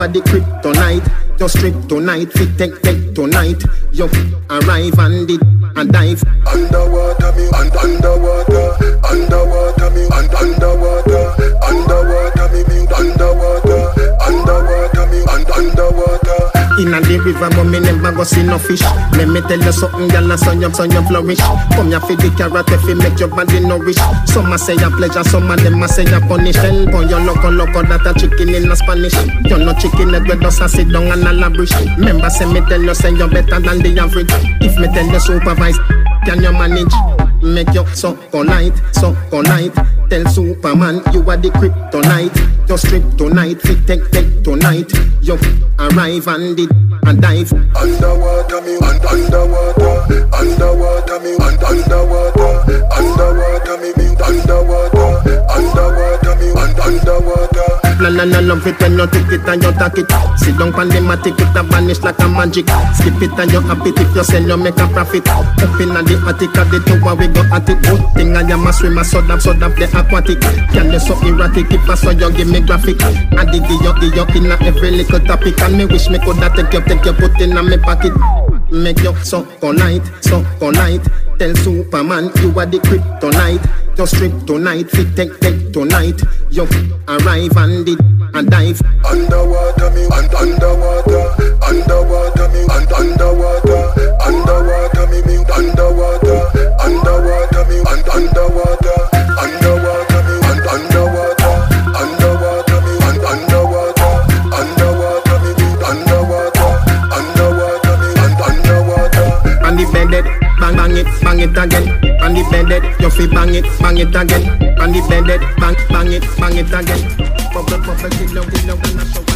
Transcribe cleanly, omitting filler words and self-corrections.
the kryptonite, just strip tonight, fit take tonight. You arrive and it and dive. Underwater me, underwater, underwater me, underwater, underwater me, underwater, underwater me, underwater. In the river, but me never go see no fish. Let me tell you something, girl, son you flourish. Come here for the carrot, if you make your body nourish. Some a say a pleasure, some of them a say a punish. Hell, boy, you loco, that a chicken in a Spanish. You no chicken, that we just a sit down and a labrish. Remember, say me tell you, say you better than the average. If me tell you supervise, can you manage? Make you so polite, so polite. Tell Superman you are the kryptonite. Just strip tonight, fit take tonight. You arrive and it and dive. Underwater me, underwater, underwater me, underwater, underwater me, underwater, underwater me, underwater. Plan and love it when you take it and you take it. Sit down pan the matic, it a vanish like a magic. Skip it and you happy if you sell you make a profit. Up in the attic of the tower we go at it. Good thing I am a swimmer, so that the aquatic. Can you so erratic if I saw you give me graphic. I dig you in every little topic. And me wish me could have take you put in a me pocket. Make you so polite, so polite. Tell Superman you are the kryptonite. Just strip tonight, fit take tonight. You arrive and it and dive. Underwater me, underwater, underwater me, underwater, underwater me, underwater, underwater me, underwater, underwater me, underwater, underwater me, underwater, underwater me, underwater, underwater me, underwater. And the bedded, bang it again. And the bedded, you feel bang it again. And the bedded, bang it again. Bubble, till you and I show.